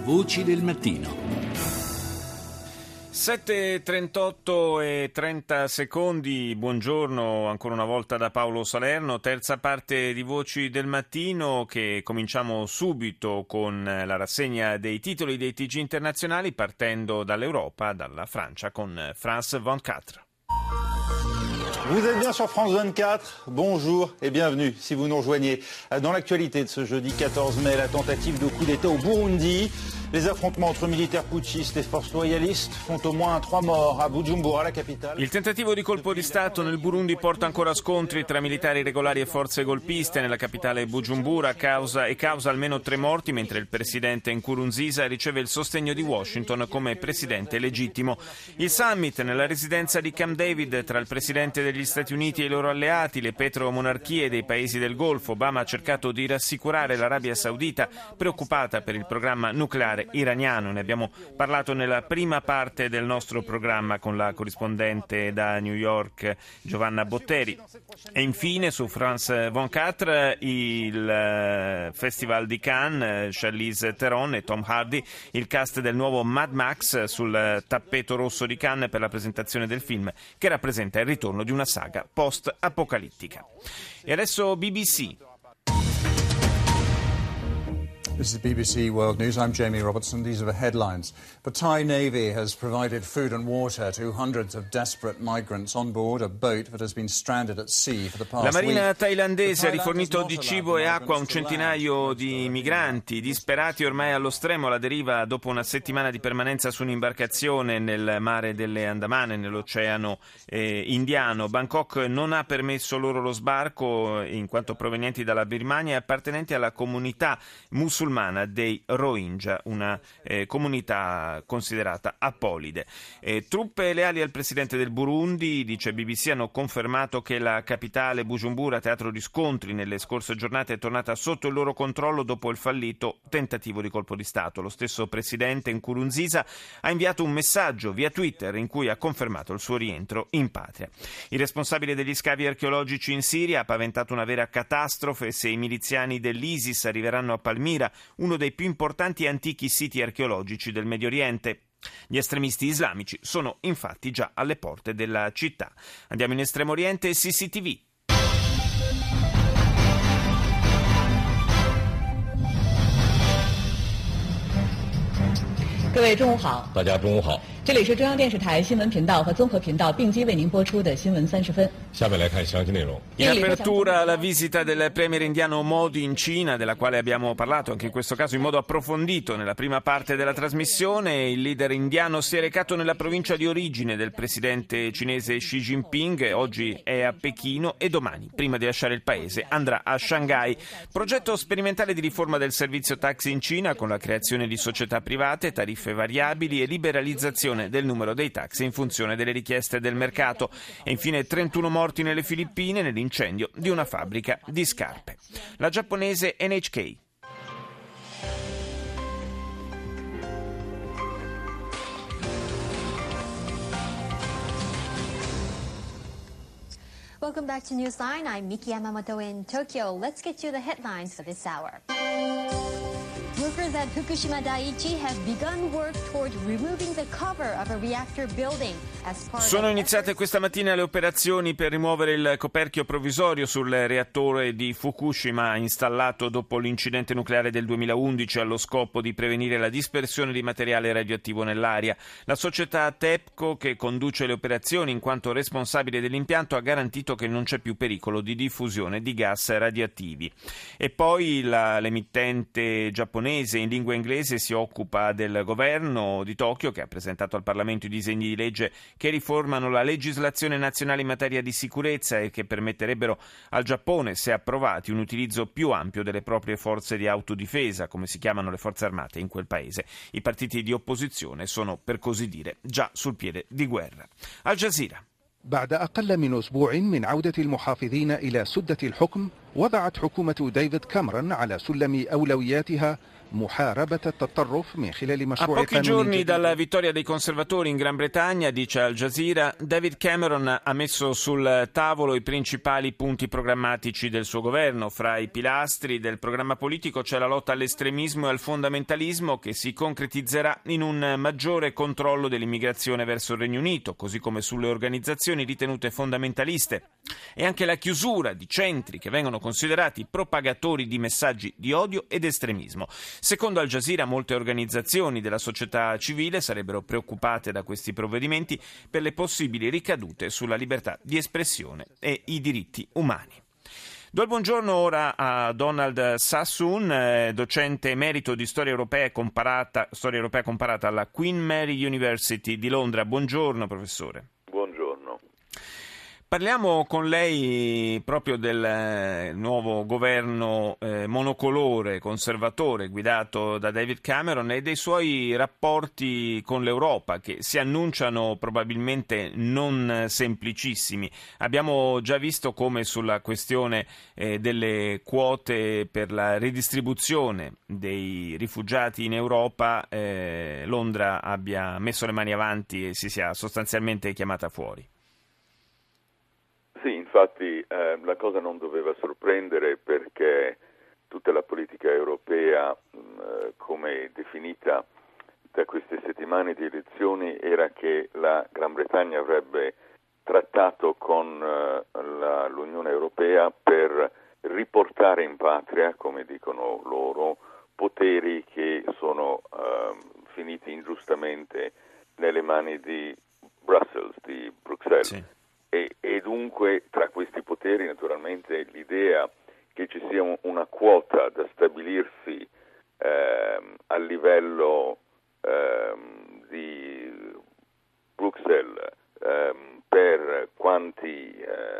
Voci del mattino. 7:38 e 30 secondi, buongiorno ancora una volta da Paolo Salerno, terza parte di Voci del Mattino che cominciamo subito con la rassegna dei titoli dei TG internazionali partendo dall'Europa, dalla Francia con France 24. Vous êtes bien sur France 24, bonjour et bienvenue si vous nous rejoignez. Dans l'actualité de ce jeudi 14 mai, la tentative de coup d'État au Burundi. Les affrontements entre militaires putschistes et forces loyalistes font au moins 3 morts a Bujumbura, la capitale. Il tentativo di colpo di Stato nel Burundi porta ancora a scontri tra militari regolari e forze golpiste nella capitale Bujumbura, causa almeno 3 morti, mentre il presidente Nkurunziza riceve il sostegno di Washington come presidente legittimo. Il summit nella residenza di Camp David tra il presidente degli Stati Uniti e i loro alleati, le petromonarchie dei paesi del Golfo. Obama ha cercato di rassicurare l'Arabia Saudita, preoccupata per il programma nucleare iraniano. Ne abbiamo parlato nella prima parte del nostro programma con la corrispondente da New York Giovanna Botteri. E infine su France 24 il Festival di Cannes, Charlize Theron e Tom Hardy, il cast del nuovo Mad Max sul tappeto rosso di Cannes per la presentazione del film che rappresenta il ritorno di una saga post-apocalittica. E adesso BBC. This is BBC World News. I'm Jamie Robertson. These are the headlines. The Thai Navy has provided food and water to hundreds of desperate migrants on board a boat that has been stranded at sea for the past week. La marina thailandese ha rifornito di cibo e acqua a un centinaio di migranti disperati ormai allo stremo alla deriva dopo una settimana di permanenza su un'imbarcazione nel mare delle Andamane, nell'oceano Indiano. Bangkok non ha permesso loro lo sbarco in quanto provenienti dalla Birmania e appartenenti alla comunità musulmana dei Rohingya, una comunità considerata apolide. Truppe leali al presidente del Burundi, dice BBC, hanno confermato che la capitale Bujumbura, teatro di scontri nelle scorse giornate, è tornata sotto il loro controllo dopo il fallito tentativo di colpo di Stato. Lo stesso presidente Nkurunziza ha inviato un messaggio via Twitter in cui ha confermato il suo rientro in patria. Il responsabile degli scavi archeologici in Siria ha paventato una vera catastrofe se i miliziani dell'ISIS arriveranno a Palmira, uno dei più importanti e antichi siti archeologici del Medio Oriente. Gli estremisti islamici sono infatti già alle porte della città. Andiamo in Estremo Oriente e CCTV. 各位中午好，大家中午好。这里是中央电视台新闻频道和综合频道并机为您播出的新闻30分。 下面来看详细内容。 In apertura la visita del premier indiano Modi in Cina, della quale abbiamo parlato anche in questo caso in modo approfondito nella prima parte della trasmissione. Il leader indiano si è recato nella provincia di origine del presidente cinese Xi Jinping, oggi è a Pechino e domani, prima di lasciare il paese, andrà a Shanghai. Progetto sperimentale di riforma del servizio taxi in Cina con la creazione di società private, tariffe variabili e liberalizzazione del numero dei taxi in funzione delle richieste del mercato. E infine 31 morti nelle Filippine nell'incendio di una fabbrica di scarpe. La giapponese NHK. Welcome back to Newsline. I'm Miki Yamamoto in Tokyo. Let's get you the headlines for this hour. Workers at Fukushima Daiichi have begun work toward removing the cover of a reactor building as part Sono iniziate questa mattina le operazioni per rimuovere il coperchio provvisorio sul reattore di Fukushima installato dopo l'incidente nucleare del 2011 allo scopo di prevenire la dispersione di materiale radioattivo nell'aria. La società TEPCO, che conduce le operazioni in quanto responsabile dell'impianto, ha garantito che non c'è più pericolo di diffusione di gas radioattivi. E poi l'emittente giapponese in lingua inglese si occupa del governo di Tokyo, che ha presentato al Parlamento i disegni di legge che riformano la legislazione nazionale in materia di sicurezza e che permetterebbero al Giappone, se approvati, un utilizzo più ampio delle proprie forze di autodifesa, come si chiamano le forze armate in quel paese. I partiti di opposizione sono, per così dire, già sul piede di guerra. Al Jazeera. بعد أقل من أسبوع من عودة المحافظين إلى سدة الحكم وضعت حكومة ديفيد كاميرون على سلم أولوياتها محاربة التطرف من خلال A مشروع pochi قانون giorni جديد. dalla vittoria dei conservatori in Gran Bretagna, dice Al Jazeera, David Cameron ha messo sul tavolo i principali punti programmatici del suo governo. Fra i pilastri del programma politico c'è la lotta all'estremismo e al fondamentalismo, che si concretizzerà in un maggiore controllo dell'immigrazione verso il Regno Unito, così come sulle organizzazioni ritenute fondamentaliste, e anche la chiusura di centri che vengono considerati propagatori di messaggi di odio ed estremismo. Secondo Al Jazeera, molte organizzazioni della società civile sarebbero preoccupate da questi provvedimenti per le possibili ricadute sulla libertà di espressione e i diritti umani. Do il buongiorno ora a Donald Sassoon, docente emerito di storia europea comparata alla Queen Mary University di Londra. Buongiorno, professore. Parliamo con lei proprio del nuovo governo monocolore, conservatore, guidato da David Cameron, e dei suoi rapporti con l'Europa, che si annunciano probabilmente non semplicissimi. Abbiamo già visto come sulla questione delle quote per la ridistribuzione dei rifugiati in Europa Londra abbia messo le mani avanti e si sia sostanzialmente chiamata fuori. Sì, infatti la cosa non doveva sorprendere, perché tutta la politica europea, come definita da queste settimane di elezioni, era che la Gran Bretagna avrebbe trattato con l'Unione Europea per riportare in patria, come dicono loro, poteri che sono finiti ingiustamente nelle mani di Bruxelles. Sì. E dunque tra questi poteri naturalmente l'idea che ci sia una quota da stabilirsi a livello di Bruxelles per quanti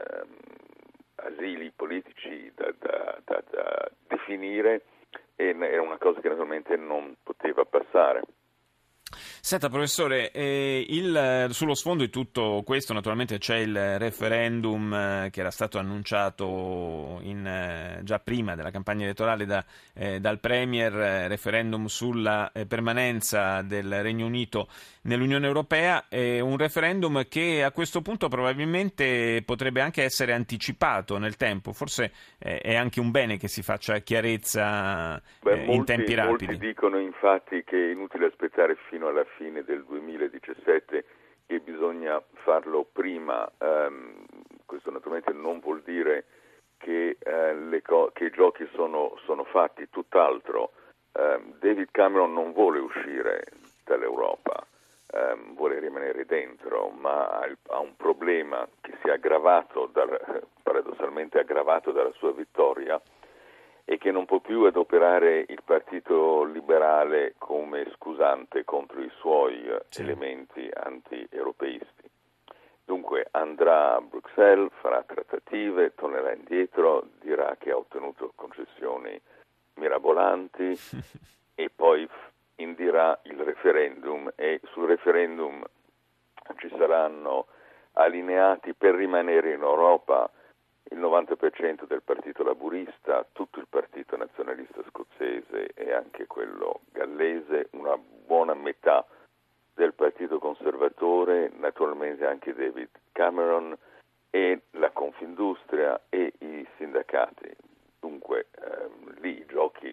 asili politici da definire era una cosa che naturalmente non poteva passare. Senta, professore, sullo sfondo di tutto questo naturalmente c'è il referendum che era stato annunciato già prima della campagna elettorale dal Premier, referendum sulla permanenza del Regno Unito nell'Unione Europea, un referendum che a questo punto probabilmente potrebbe anche essere anticipato nel tempo. Forse è anche un bene che si faccia chiarezza in tempi rapidi. Molti dicono infatti che è inutile aspettare fino alla fine del 2017, che bisogna farlo prima. Questo naturalmente non vuol dire che i giochi sono fatti, tutt'altro. David Cameron non vuole uscire dall'Europa, vuole rimanere dentro, ma ha un problema che si è aggravato, paradossalmente aggravato dalla sua vittoria, e che non può più adoperare il Partito Liberale come scusante contro i suoi elementi anti-europeisti. Dunque andrà a Bruxelles, farà trattative, tornerà indietro, dirà che ha ottenuto concessioni mirabolanti e poi indirà il referendum, e sul referendum ci saranno allineati per rimanere in Europa il 90% del partito laburista, tutto il partito nazionalista scozzese e anche quello gallese, una buona metà del partito conservatore, naturalmente anche David Cameron e la Confindustria e i sindacati. Dunque lì i giochi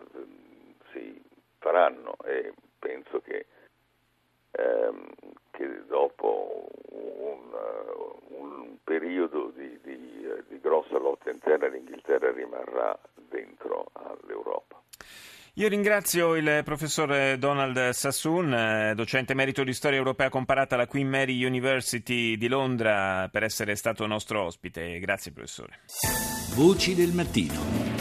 si faranno, e penso che dopo un periodo di grossa lotta interna l'Inghilterra rimarrà dentro all'Europa. Io ringrazio il professor Donald Sassoon, docente emerito di storia europea comparata alla Queen Mary University di Londra, per essere stato nostro ospite. Grazie, professore. Voci del mattino.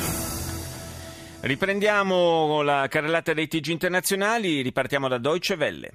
Riprendiamo la carrellata dei TG internazionali, ripartiamo da Deutsche Welle.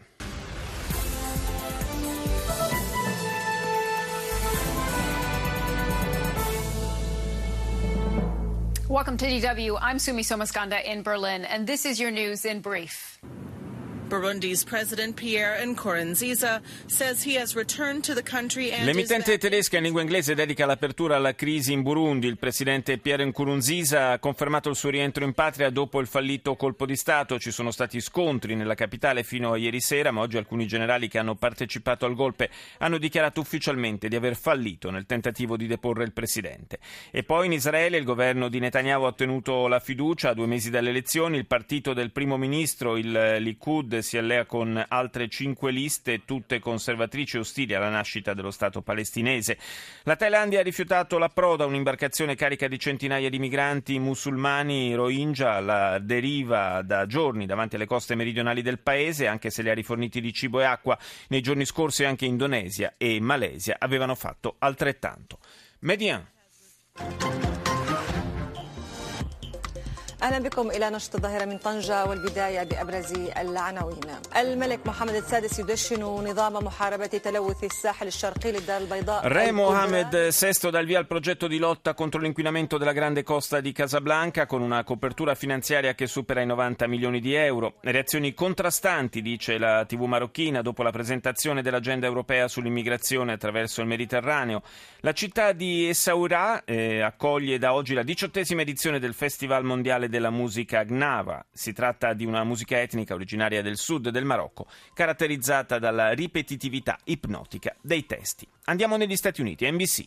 Welcome to DW. I'm Sumi Somaskanda in Berlin, and this is your news in brief. Burundi's President Pierre Nkurunziza says he has returned to the country and L'emittente tedesca in lingua inglese dedica l'apertura alla crisi in Burundi. Il presidente Pierre Nkurunziza ha confermato il suo rientro in patria dopo il fallito colpo di Stato. Ci sono stati scontri nella capitale fino a ieri sera, ma oggi alcuni generali che hanno partecipato al golpe hanno dichiarato ufficialmente di aver fallito nel tentativo di deporre il presidente. E poi in Israele il governo di Netanyahu ha ottenuto la fiducia a 2 mesi dalle elezioni. Il partito del primo ministro, il Likud, si allea con altre 5 liste, tutte conservatrici ostili alla nascita dello Stato palestinese. La Thailandia ha rifiutato l'approdo a un'imbarcazione carica di centinaia di migranti musulmani Rohingya alla deriva da giorni davanti alle coste meridionali del paese, anche se li ha riforniti di cibo e acqua. Nei giorni scorsi anche Indonesia e Malesia avevano fatto altrettanto. Median. أهلا بكم إلى نشرة الظاهرة من طنجة والبداية بأبرز العناوين. الملك محمد السادس يدشن نظام محاربة تلوث الساحل الشرقي للدار البيضاء. Re Mohammed VI dà il via al progetto di lotta contro l'inquinamento della grande costa di Casablanca con una copertura finanziaria che supera i 90 milioni di euro. Reazioni contrastanti, dice la TV marocchina, dopo la presentazione dell'agenda europea sull'immigrazione attraverso il Mediterraneo. La città di Essaouira accoglie da oggi la 18ª edizione del Festival Mondiale della musica Gnava. Si tratta di una musica etnica originaria del sud del Marocco, caratterizzata dalla ripetitività ipnotica dei testi. Andiamo negli Stati Uniti, NBC.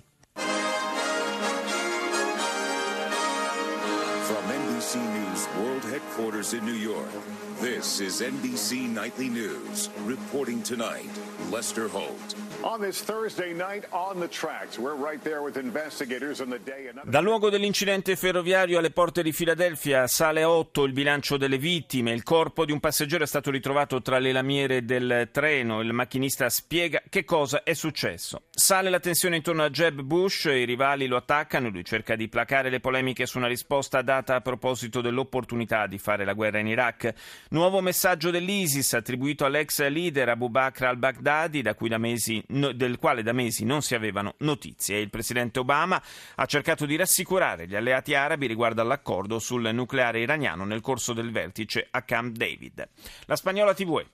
From NBC News World Headquarters in New York, this is NBC Nightly News. Reporting tonight, Lester Holt. On this Thursday night on the tracks, we're right there with investigators on the day. Dal luogo dell'incidente ferroviario alle porte di Filadelfia sale a 8 il bilancio delle vittime. Il corpo di un passeggero è stato ritrovato tra le lamiere del treno. Il macchinista spiega che cosa è successo. Sale la tensione intorno a Jeb Bush, i rivali lo attaccano, lui cerca di placare le polemiche su una risposta data a proposito dell'opportunità di fare la guerra in Iraq. Nuovo messaggio dell'ISIS attribuito all'ex leader Abu Bakr al-Baghdadi, del quale da mesi non si avevano notizie. Il presidente Obama ha cercato di rassicurare gli alleati arabi riguardo all'accordo sul nucleare iraniano nel corso del vertice a Camp David. La Spagnola TV.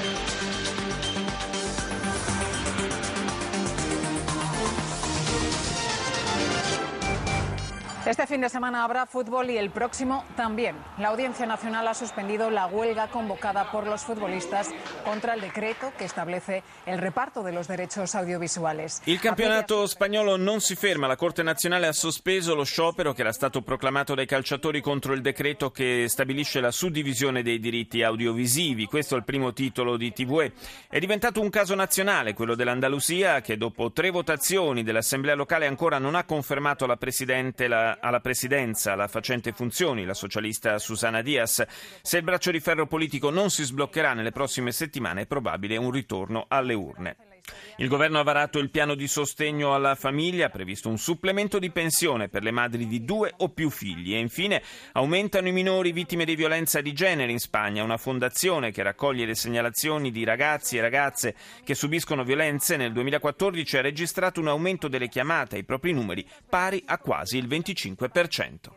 Este fin de semana habrá fútbol y el próximo también. La Audiencia Nacional ha suspendido la huelga convocada por los futbolistas contra il decreto che establece il reparto de los derechos audiovisuales. Il campionato spagnolo non si ferma. La Corte Nazionale ha sospeso lo sciopero che era stato proclamato dai calciatori contro il decreto che stabilisce la suddivisione dei diritti audiovisivi. Questo è il primo titolo di TVE. È diventato un caso nazionale, quello dell'Andalusia, che dopo 3 votazioni dell'Assemblea locale ancora non ha confermato alla presidenza la facente funzioni, la socialista Susana Díaz. Se il braccio di ferro politico non si sbloccherà nelle prossime settimane è probabile un ritorno alle urne. Il governo ha varato il piano di sostegno alla famiglia, ha previsto un supplemento di pensione per le madri di 2 o più figli e infine aumentano i minori vittime di violenza di genere in Spagna. Una fondazione che raccoglie le segnalazioni di ragazzi e ragazze che subiscono violenze nel 2014 ha registrato un aumento delle chiamate ai propri numeri pari a quasi il 25%.